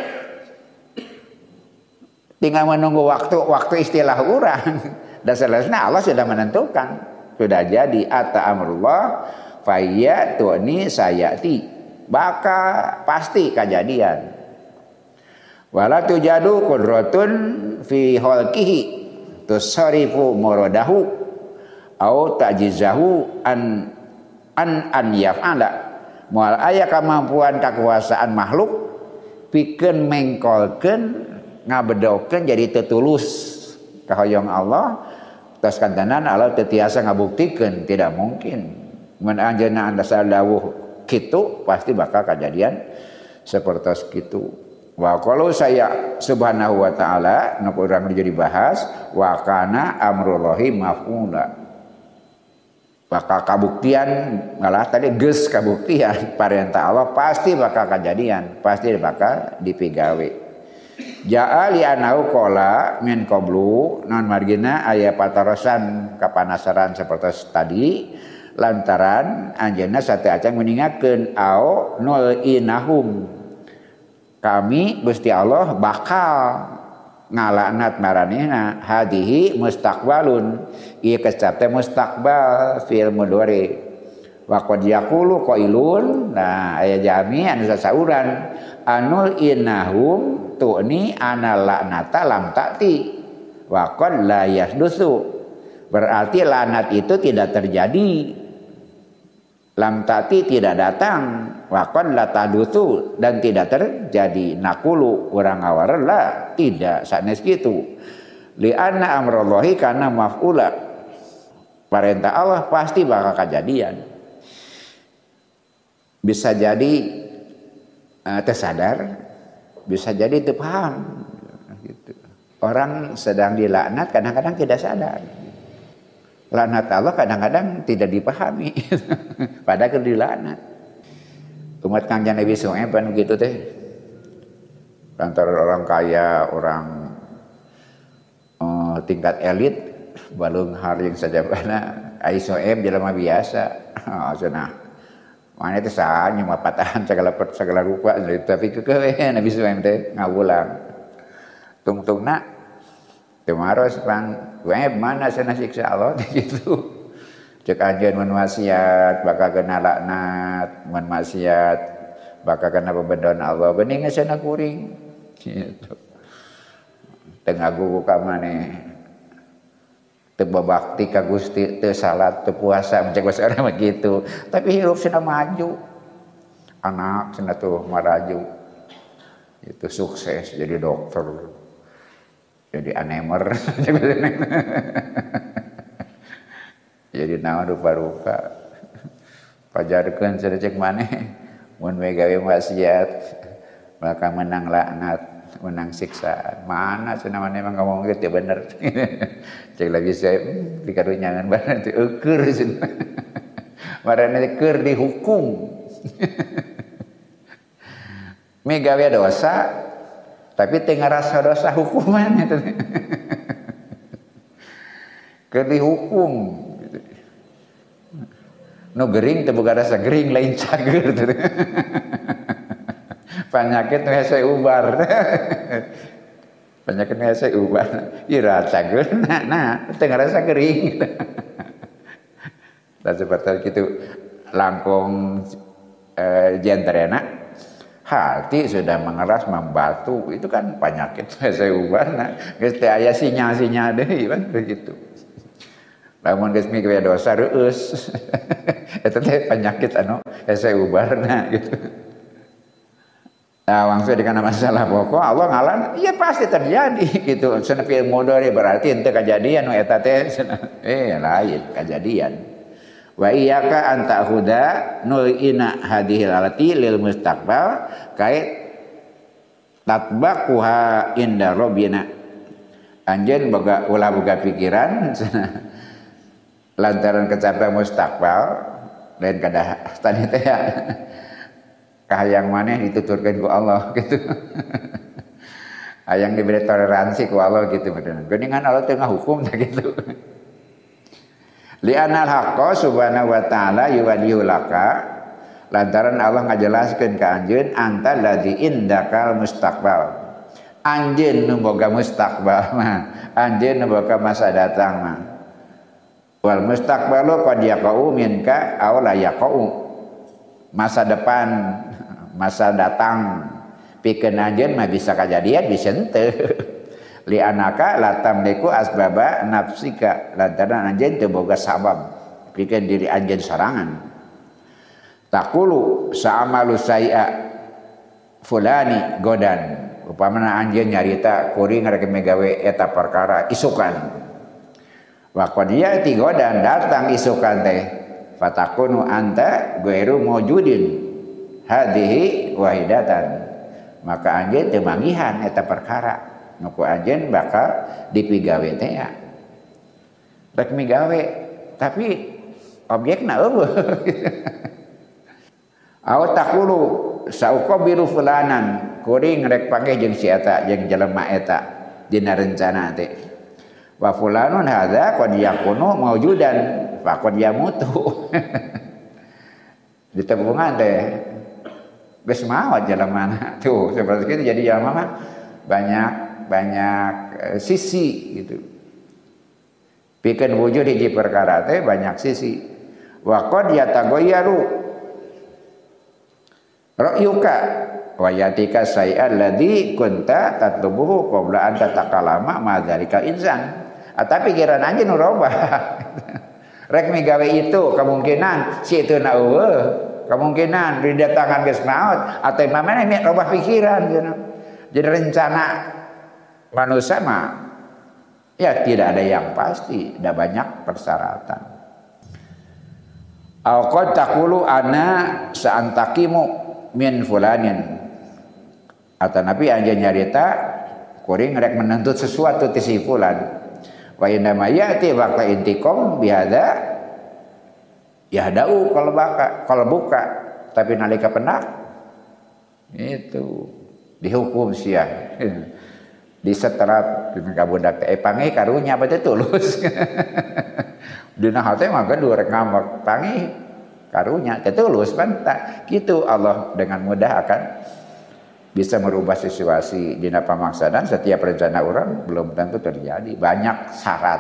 tinggal menunggu waktu waktu istilah urang dan selesai Allah sudah menentukan sudah jadi ata amrullah fayyatuni sayati bakal pasti kejadian wala tujadu qudratun fi khalqihi tusarifu muradahu au ta'jizahu an an an yaf'ala moal aya kemampuan kekuasaan makhluk pikeun mengkolkeun ngabedokeun jadi tetulus kahoyong Allah tos kantanan Allah teu tiasa ngabuktikeun tidak mungkin mun anjeunna anda sadawuh kitu pasti bakal kejadian sapertos kitu. Wa kalau saya subhanahu wa ta'ala nu urang jadi bahas wa kana amrullahi maf'ula bakal kabuktian ngalah tadi geus kabuktian parentah Allah pasti bakal kejadian pasti bakal dipigawe ja'a li anau qala min qablu non margina aya patarosan kapanasaran sapertos tadi lantaran anjeunna sate acang meningakeun au nul inahum kami Gusti Allah bakal ngalaknat maranehna hadihi mustaqbalun ieu kecap teh mustaqbal fil mudhari Wa qad yaqulu qailun, nah aya jami anu sasauran anul innahum tu'ni ana laknata lam ta'ti wa qad la yahdusu, berarti laknat itu tidak terjadi, lam ta'ti tidak datang, wa qad la tahdusu dan tidak terjadi. Naqulu urang ngawarela tidak sanes kitu, li anna amrallahi kana maf'ula, perintah Allah pasti bakal kejadian. Bisa jadi uh, tersadar, bisa jadi terpaham gitu. Orang sedang dilaknat kadang-kadang tidak sadar, laknat Allah kadang-kadang tidak dipahami padahal dilaknat. Umat Kangjeng Nabi Shu'aib kan gitu teh, antara orang kaya, orang uh, tingkat elit balung haring saja karena ai Shu'aib jelema biasa. Oh, cenah mana itu sah nyewa patahan segala segala rupa, tapi kekeh Nabi Shu'aib teh ngawulang tungtungna teu maros pan Shu'aib mana cenah siksa Allah gitu. Cek anjeun mun maksiat bakal kena laknat, mun maksiat bakal kena pembendon Allah, bening cenah kuring gitu. Teu ngagugu ka maneh, teu babakti ka Gusti, teu salat, teu puasa, mencek bahasa orang begitu. Tapi hirup cenah maju, anak cenah tuh maraju, itu sukses jadi dokter, jadi anemer, jadi naon rupa-rupa. Pajarkeun cenah cek maneh, mun we gawe maksiat bakal menang laknat, menang siksaan. Mana cenah maneh mah ngomong gitu bener. Cek lagi saya hmm, dikarunya ngan bae teh eukeur cenah. Marane keur dihukum. Me gawe dosa tapi teu ngarasa dosa hukuman eta. Keur dihukum. Nu gering teu boga rasa gering lain cager teh. Penyakit hese ubar. Penyakit hese ubar. Ira cager nah, nah teu ngarasa gering. Dan seperti itu langkung eh, jenterena hati sudah mengeras membatu, itu kan penyakit hese ubar. Nah, geus teh aya sinyal-sinyal deui kan begitu. Lamun geus migwe dosa reueus. Eta teh penyakit anu hese ubarna gitu. Nah, langsung dikana masalah pokok Allah ngalan, iya pasti terjadi gitu. Cenah fil mudhari berarti henteu kejadian nu eta teh eh lain kejadian. Wa iyyaka an ta'khuda nu'ina hadhil alati lil mustaqbal kait tatbaquha inda rabbina. Anjeun boga ulah boga pikiran lantaran kecapai mustaqbal lain kadah tadi teh ya kahayang maneh dituturkeun ku Allah gitu. Hayang diberi toleransi ku Allah gitu bener. Geuningan Allah teu ngahukum teh gitu. Li anal haqqo subhanahu wa ta'ala yuwaddihu laka, lantaran Allah ngajelaskeun ka anjeun anta ladzi indakal mustaqbal. Anjeun nu boga mustaqbal mah, anjeun nu boga masa datang mah. Wal mustaqbalu qad yaqau minka aw la yaqau. Masa depan, masa datang pikeun anjeun mah bisa kajadian bisa henteu. Li anaka la tamliku asbaba nafsika, lantaran anjeun teu boga sabab pikeun diri anjeun sarangan. Taqulu sa'amalu say'a fulani godan, upamana anjeun nyarita kuring rek megawe eta perkara isukan. Wa qad ya'ti godan datang isukan teh fatakunu anta ghairu mawjudin hadhihi wahidatan, maka anjeun teu manggihan eta perkara nuku anjeun bakal dipigawe teh ya. Rek migawe tapi objekna eueuh. Aw taqulu sauqabilu fulanan, kuring rek panggih jeung si eta jeung jelema eta dina rencana teh. Wa fulanun hadza qad yakunu mawjudan fa qad yamutu. Ditebungan teh geus maot jelemana tuh seperti itu. Jadi jelema mah banyak banyak uh, sisi gitu. Pikeun wujud hiji perkara teh banyak sisi. wa qad yataghayyaru ra'yuka wa yatika say'al ladzi kunta tatlubuhu qabla an tatakalama ma dzalika insan. Tapi pikiran aja nu robah. Rek migawe itu kemungkinan si itu na eueuh, kemungkinan didatangan geus naot atau mamana ini robah pikiran gitu. Jadi rencana manusia mah ya tidak ada yang pasti, ada banyak persyaratan. Au qad taqulu ana sa'antakimu min fulanin. Atau nabi anja nyarita kuring rek menuntut sesuatu ti si fulan. Wa inna ma ya'ti waqta intiqam bihadza yahdau kalau baka kalau buka tapi nalika pendak itu dihukum sia diseterap dina kabudak teh pangi karunya bade tulus. Dina hate mah gaduh rek ngambek pangi karunya teh tulus pantak kitu. Allah dengan mudah akan bisa merubah situasi dina pamaksanan. Setiap rencana orang belum tentu terjadi, banyak syarat.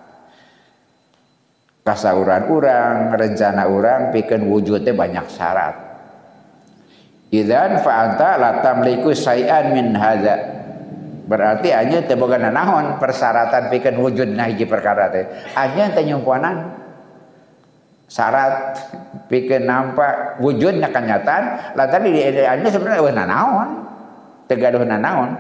Kasauran orang, rencana orang pikeun wujudnya banyak syarat. Idzan fa anta la tamliku syai'an min hadza. Berarti aja teu boga nanaon persyaratan pikeun wujudna hiji perkara teh. Aja teh nyumponan syarat pikeun nampak wujudna kenyataan, lah tadi di anya sebenarnya weh nanaon. Teu gaduh nanaon.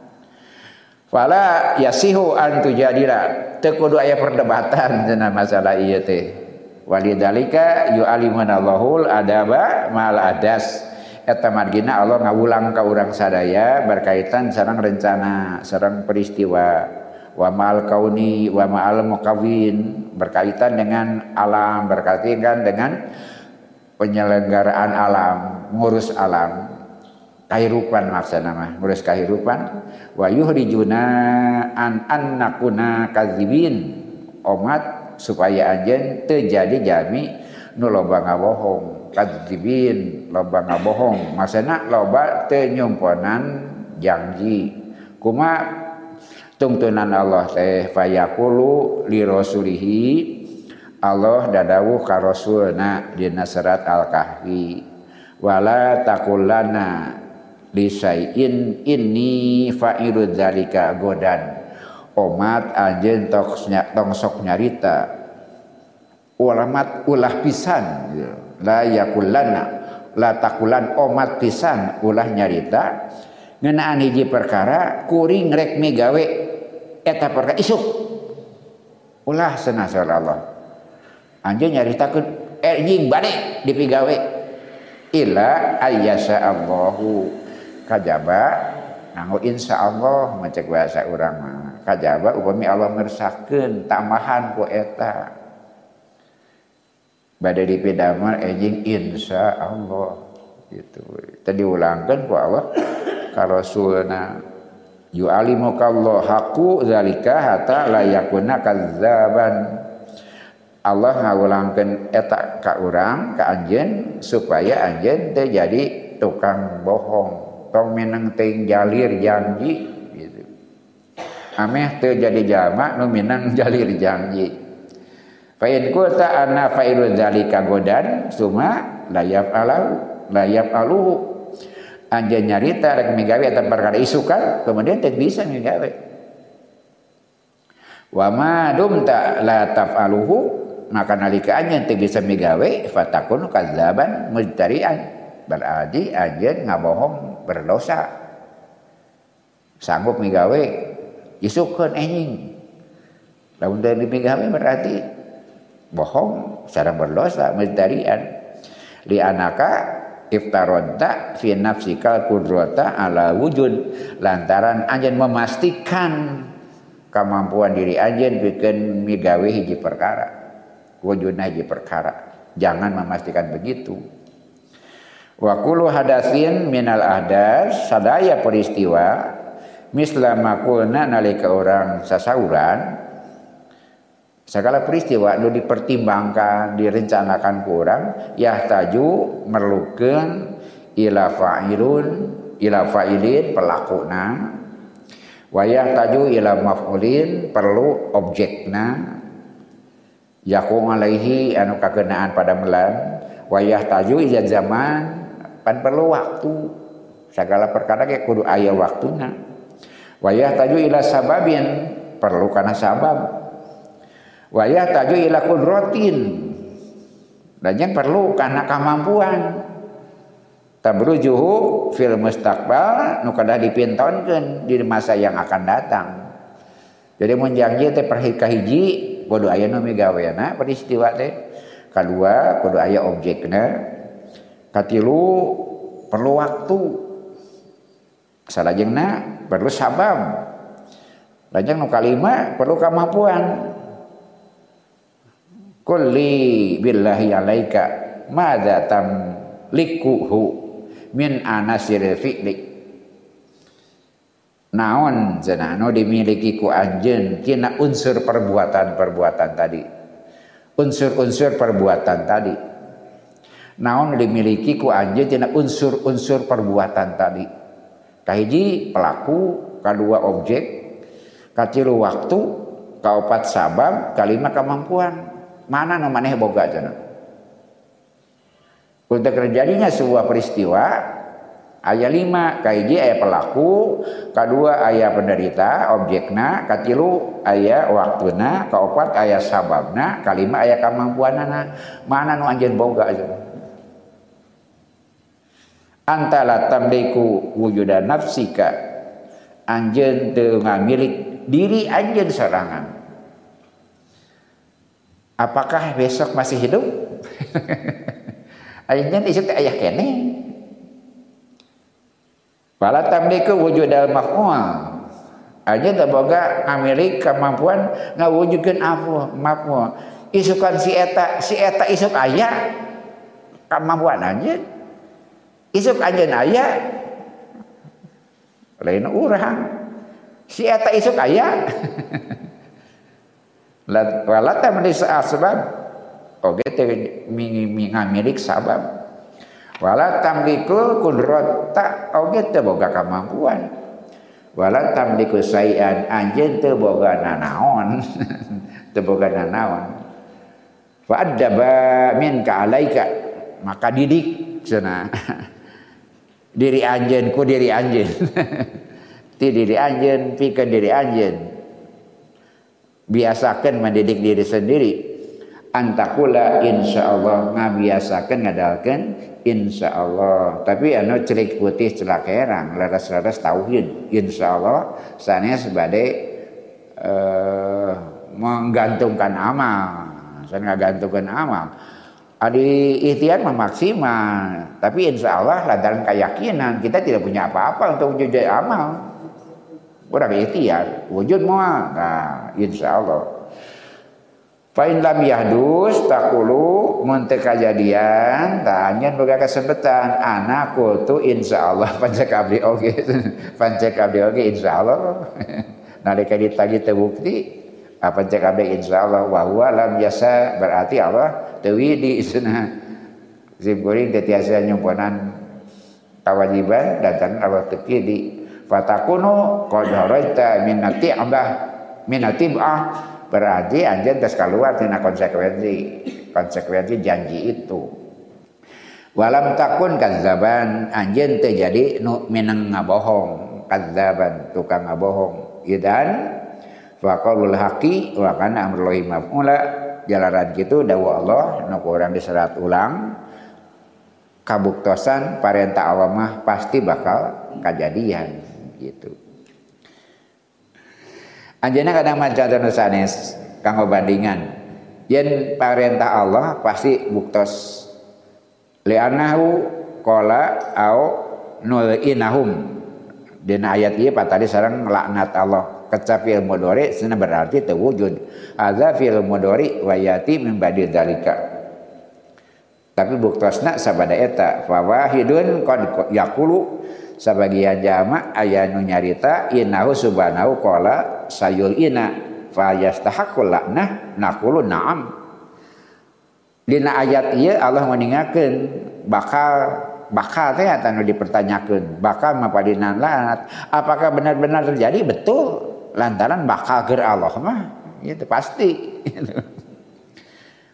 Fala yasihu an tujadila. Teu kudu aya perdebatan cenah masalah ieu teh. Walidalika yu'alimunallahul adaba mal adas. Eta margina Allah ngawulang ka urang sadaya berkaitan sareng rencana, sareng peristiwa. Wa ma'al kauni wa ma'al muqawwin, berkaitan dengan alam, berkaitan dengan penyelenggaraan alam, ngurus alam. Kahirupan maksudna mah, ngurus kahirupan. Wa yuhrijuna an annakuna kadzibin. Umat supaya anjeun teu jadi jami nu loba ngabohong. Kadzibin loba ngabohong, maksudna loba teu nyumponan janji. Kuma tungtunan Allah teh fayaqulu li rasulihi, Allah dadawuh ka rasulna dina surat Al-Kahfi, wala taqulanna li syai'in inni fa'ilu dzalika godan. Umat anjeun tong sok nyarita ulamat ulah pisan la yakulanna la takulan umat pisan ulah nyarita ngeunaan hiji perkara kuring rek migawe eta perkara isuk ulah cenah Allah anjeun nyaritakeun enjing bade dipigawe illa ayyasha Allahu kajaba nganggo insyaallah macek bahasa urang mah kajaba upami Allah mirsahkeun tambahan ku eta bade dipidamar enjing insya Allah gitu. Tadi ulangkan ku Allah ka rasulna yu'alimukallahu haqqu zalika hatta la yakuna kazzaban. Allah ngawulangkeun eta ka urang ka anjeun supaya anjeun teu jadi tukang bohong, tong minang teuing jalir janji gitu. Ameh teu jadi jalma nu minang jalir janji. Fa in qulta anna fa'ilu dzalika godan summa la yaf'alu la yaf'alu anjeun nyarita rek migawe eta perkara isukan kemudian teu bisa migawe. Wa ma dumta la taf'aluhu maka nalika anjeun teu bisa migawe fatakun kadzaban mujtari'an berarti anjeun ngabohong berdosa. Sanggup migawe isukeun enjing. Lamun teu migawe berarti bohong secara berdosa mujtarian li anaka iftaronta fi nafsika qudrata ala wujud lantaran anjeun memastikan kemampuan diri anjeun pikeun migawe hiji perkara wujudna hiji perkara jangan memastikan begitu. Wa kullu hadatsin minal ahdas sadaya peristiwa misla makulna nalika orang sasauran segala peristiwa nu dipertimbangkan, direncanakan ku urang yahtaju merlukeun ila fa'ilun ila fa'ilin pelakuna wa yahtaju ila maf'ulin perlu objekna Yaqum alaihi anu kakenaan pada melan wayah taju ijaz zaman pan perlu waktu segala perkara ge kudu aya waktuna wayah taju ila sababin perlu kana sabab wayah taju ila qudratin dan yang perlu kana kemampuan tabrujuhu fil mustaqbal nu kada dipintonkeun di masa yang akan datang. Jadi mun janji teh perhika hiji kudu aya nu migaweana peristiwa teh, kadua kudu aya objekna, katilu perlu waktu, salajengna perlu sabab, lajeng nu kalima perlu kemampuan. Kulli billahi alaika madza tamlikuhu min anasiril fi'li. Naon cenah nu dimiliki ku anjeun tina unsur perbuatan-perbuatan tadi. Unsur-unsur perbuatan tadi. Naon dimiliki ku anjeun tina unsur-unsur perbuatan tadi. Kahiji pelaku, kadua objek, katilu waktu, kaopat sabab, kalima kemampuan. Mana nu maneh boga cenah. Untuk terjadinya sebuah peristiwa aya lima, kahiji aya pelaku, kadua aya penderita, objekna, katilu aya waktuna, kaopat aya sababna, kalima aya kemampuanana. Mana nu anjeun boga aja. Antala tamliku wujuda nafsika, anjeun teu ngamilik diri anjeun sorangan. Apakah besok masih hidup? Anjeun isuk teh aya keneh. Fala tamliku wujudal maf'ul. Aja teu boga ngamilik kemampuan ngawujudkeun apa maf'ul. Isukan si eta, si eta isuk aya kemampuan anjeun. Isuk anjeun aya lain urang. Si eta isuk aya. Wala tamlik asbab. Oge teh ngamilik sabab. Wala tamliku qudrata oge teu boga kemampuan. Wala tamliku sayan anjeun teu boga nanaon. Teu boga nanaon. Fa adaba minka alaika maka didik cenah. Diri anjeun ku diri anjeun. Ti diri anjeun pikeun diri anjeun. Biasakeun mendidik diri sendiri. Antakula insyaallah ngabiasakeun ngadalkeun insyaallah tapi anu celik putih celak herang leres-leres tauhid insyaallah sanes bade uh, menggantungkan amal sanes ngagantungkeun amal adi ikhtiar memaksimal tapi insyaallah lantaran keyakinan kita tidak punya apa-apa untuk wujud amal urang ikhtiar wujud moal nah insyaallah. Fa'in lam yahdus taqulu mun teu kajadian tanya boga kesempatan anakku tu insyaallah pancek abdi oge pancek abdi oge insyaallah nalika ditagi teu bukti apa pancek abdi insyaallah wa huwa lam yasa berarti Allah teu widi cenah sim kuring teu tiasa nyumponan kewajiban dan Allah teu widi fatakunu qad haraita min nati'ah min natibah berarti anjeun geus kaluar tina konsekuensi konsekuensi janji itu. Walam takun kadzaban anjeun teu jadi nu minang ngabohong kadzaban tukang ngabohong idan faqaulul haqi wa kana amrullahi maf'ula jalaran kitu dawuh Allah nu urang diserat ulang kabuktosan parentah Allah mah pasti bakal kajadian gitu. Anjeunna kadang maca anu sanes kanggo bandingan yen parentah Allah pasti buktos li'annahu qala au nul'inahum dina ayat ieu patali sareng laknat Allah kecap fil mudhari cenah berarti teu wujud hadza fil mudhari wa yati min ba'di dzalika tapi buktosna sabada eta fa wahidun qad yaqulu sabagian jama aya nu nyarita innahu subhanahu qala sayul ina fa yastahaqqul laknah naqulu na'am dina ayat ieu Allah meningakeun bakal bakal teh atuh nu dipertanyakeun bakal mapadinan laknat apakah benar-benar terjadi betul lantaran bakal keur Allah mah itu pasti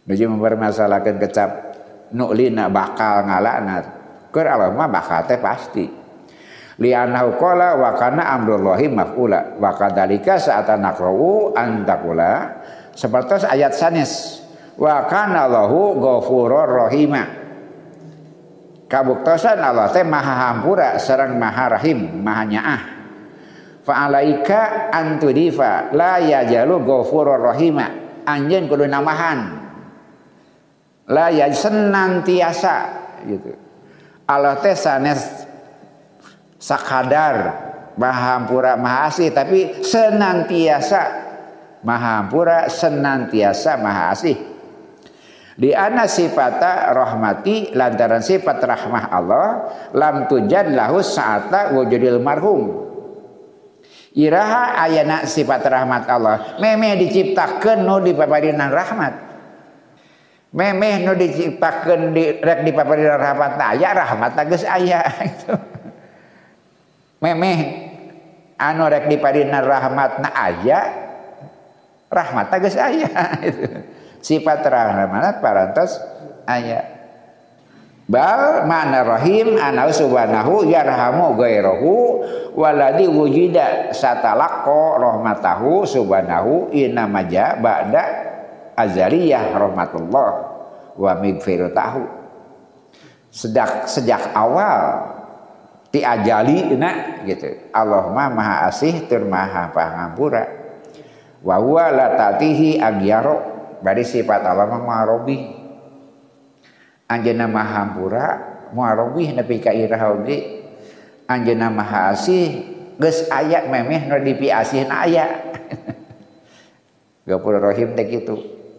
nuju mempermasalahkeun kecap nu'lina bakal ngalakna keur Allah mah bakal teh pasti li'annahu qala wa kana amrullahi maf'ula wa kadzalika sa'ata naqra'u antakula seperti ayat sanes wa kana Allahu ghafurur rahima kabuktosan Allah teh maha hampura sareng maha rahim maha nyaah fa alaika antudifa la yajalu ghafurur rahima anjeun kudu namahan la ya senantiasa gitu Allah teh sanes sakadar maha hampura maha asih tapi senantiasa maha hampura senantiasa maha asih di anna sifata rahmati lantaran sifat rahmah Allah lam tujad lahu sa'ata wujudil marhum iraha ayana sifat rahmat Allah memeh diciptakeun nu dipaparinan rahmat memeh nu diciptakeun di rek dipaparinan rahmat aya rahmat geus aya gitu memeh anu rek dipaparinan rahmatna aya rahmat geus aya gitu sifat rahmat parantos aya bal ma'na rahim ana subhanahu yarhamu ghairahu waladi wujida satalaqqa rahmatahu subhanahu inna maja ba'da azaliyah rahmatullah wa mighfiratahu sejak sejak awal ti ajalina gitu Allah mah maha asih tur maha pangampura wa huwa la ta'tihi aghyaro bari sifat Allah mah marobi anjeunna maha hampura muarobih nepi ka iraha oge anjeunna maha asih geus aya memeh nu dipiasihna aya Ghafurur Rahim teh kitu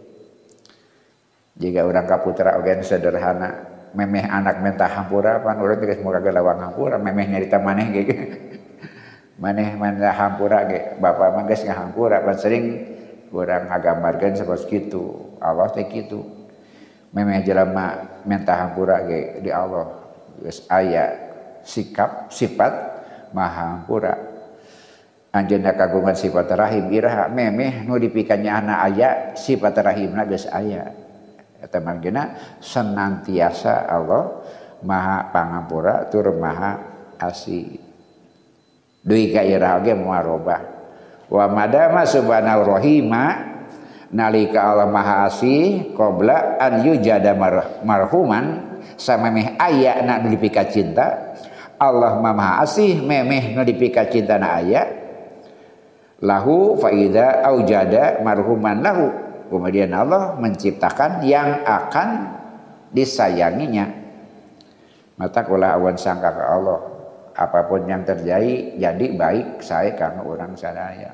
jika urang kaputra oge sederhana memeh anak mentah hampura pan urang geus moga lawang hampura memeh nyarita maneh ge maneh mentah hampura ge bapa mah geus ngahampura pan sering urang ngagambarkeun saperti kitu Allah teh kitu memeh jelema mentah hampura ge di Allah geus aya sikap sifat maha hampura anjeunna kagungan sifat rahim iraha memeh nu dipikanya anak aya sifat rahimna geus aya eta mangkena senantiasa Allah maha pangampura tur maha asih deui ka iraha ge muarobah wa madama subhanahu rahima nalika Allah maha asih qabla an yujada marhuman samemeh aya na nu dipika cinta Allah maha asih memeh nu dipika cinta na aya lahu faida aujada marhuman lahu kemudian Allah menciptakan yang akan disayanginya mata kula awan sangka ke Allah apapun yang terjadi jadi baik saya karena orang sadaya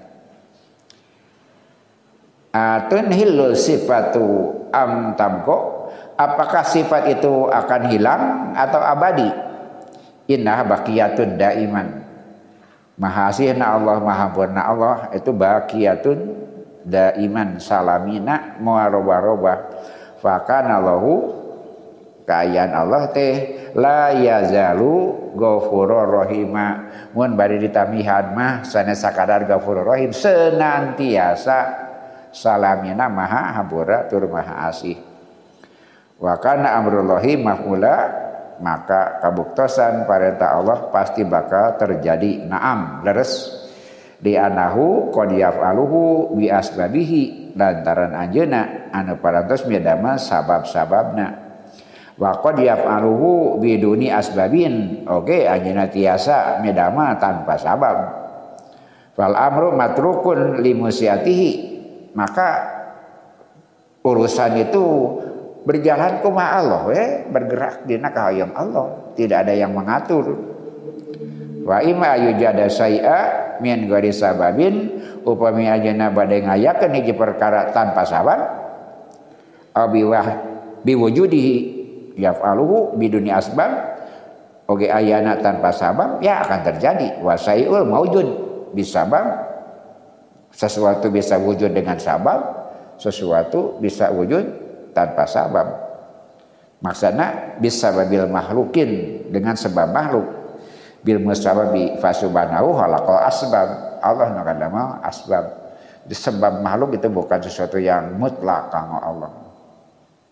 atunhilul sifatu am tamko apakah sifat itu akan hilang atau abadi inna baqiyatun daiman maha asihna Allah maha purna Allah itu baqiyatun daiman salamina muarobah-robah fakana lahu kayaan Allah teh la yazalu ghafurur rahima mun bari ditamihan mah sanes sakadar ghafurur rahim senantiasa salamina maha hampura tur maha asih wa kana amrullahi maf'ula maka kabuktosan parentah Allah pasti bakal terjadi naam leres di anahu qad yaf'aluhu bi asbabihi lantaran anjeuna anu parantos midama sabab-sababna wa qad yaf'aluhu biduni asbabin oke anjeuna tiasa midama tanpa sabab fal amru matrukun limusyatihi maka urusan itu berjalan kumaha Allah we bergerak dina kahayang Allah tidak ada yang mengatur wa imma yujada syai'a min ghairi sababin upami ajeuna bade ngayakeun hiji perkara tanpa sabab abiwah biwujudihi yaf'aluhu biduni asbab oge ayana tanpa sabab ya akan terjadi wa syai'ul maujud bisabab sesuatu bisa wujud dengan sabab sesuatu bisa wujud tanpa sabab maksudna bisababil makhlukin dengan sebab makhluk bil musababi fasubhanahu khalaqal asbab Allah nakadama asbab disebab makhluk itu bukan sesuatu yang mutlak kanggo Allah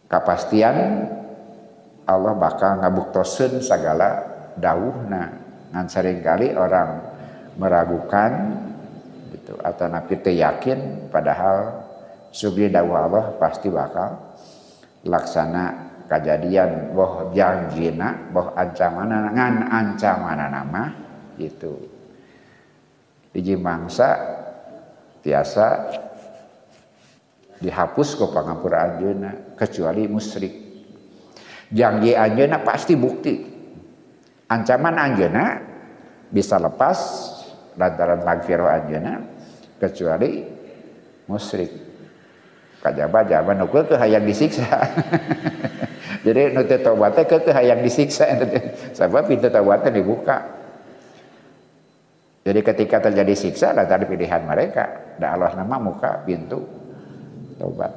kapastian Allah bakal ngabuktoseun sagala dawuhna. Ngan seringkali orang meragukan gitu atau napi teu yakin padahal sugri dawuh Allah pasti bakal laksana kejadian boh janjina boh ancamanana ngan ancamanana mah gitu. Hiji mangsa tiasa dihapus ku pangapura anjeunna kecuali musyrik. Janji anjeunna pasti bukti. Ancaman anjeunna bisa lepas lantaran magfirah anjeunna kecuali musyrik. Kajaba jaman nu keukeuh hayang disiksa. Jadi nu teu tobat teh keukeuh hayang disiksa. Sabab pintu tobatnya dibuka. Jadi ketika terjadi siksa lah tadi pilihan mereka. Da Allah nama muka pintu tobat.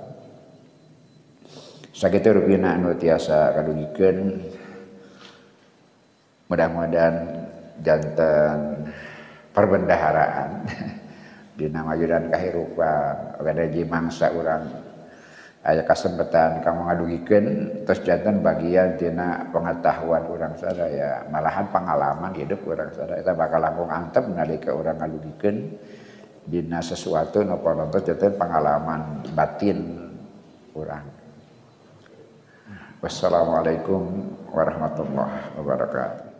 Sakitu rupina anu tiasa kadugikeun. Mudah-mudahan janten perbendaharaan dina majudan kahirupan kada ji mangsa urang aya kasempatan kamu ngadugikeun terus janten bagian tina pengetahuan urang sadaya malahan pengalaman hidup urang sadaya eta bakal langkung antep nalika urang ngadugikeun dina sesuatu nu panontos janten pengalaman batin urang. Wassalamualaikum warahmatullahi wabarakatuh.